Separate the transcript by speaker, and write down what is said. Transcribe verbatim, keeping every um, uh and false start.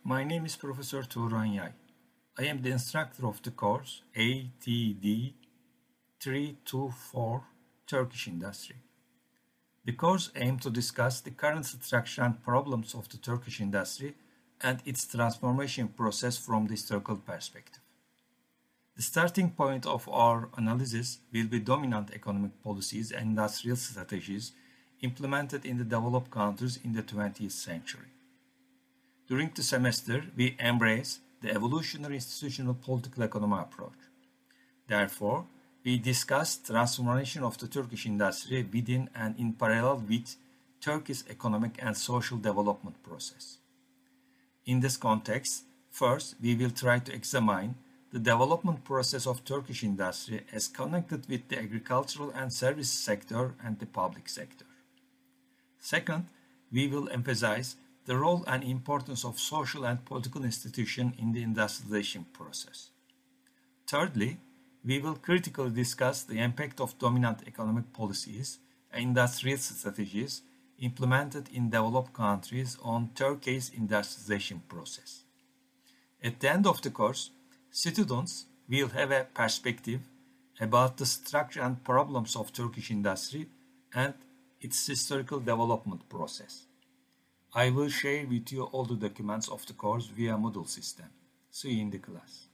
Speaker 1: My name is Professor Turan Yay. I am the instructor of the course A T D three two four Turkish Industry. The course aims to discuss the current structure and problems of the Turkish industry and its transformation process from the historical perspective. The starting point of our analysis will be dominant economic policies and industrial strategies implemented in the developed countries in the twentieth century. During the semester, we embrace the evolutionary institutional political economy approach. Therefore, we discuss transformation of the Turkish industry within and in parallel with Turkey's economic and social development process. In this context, first, we will try to examine the development process of Turkish industry as connected with the agricultural and service sector and the public sector. Second, we will emphasize the role and importance of social and political institutions in the industrialization process. Thirdly, we will critically discuss the impact of dominant economic policies and industrial strategies implemented in developed countries on Turkey's industrialization process. At the end of the course, students will have a perspective about the structure and problems of Turkish industry and its historical development process. I will share with you all the documents of the course via Moodle system. See you in the class.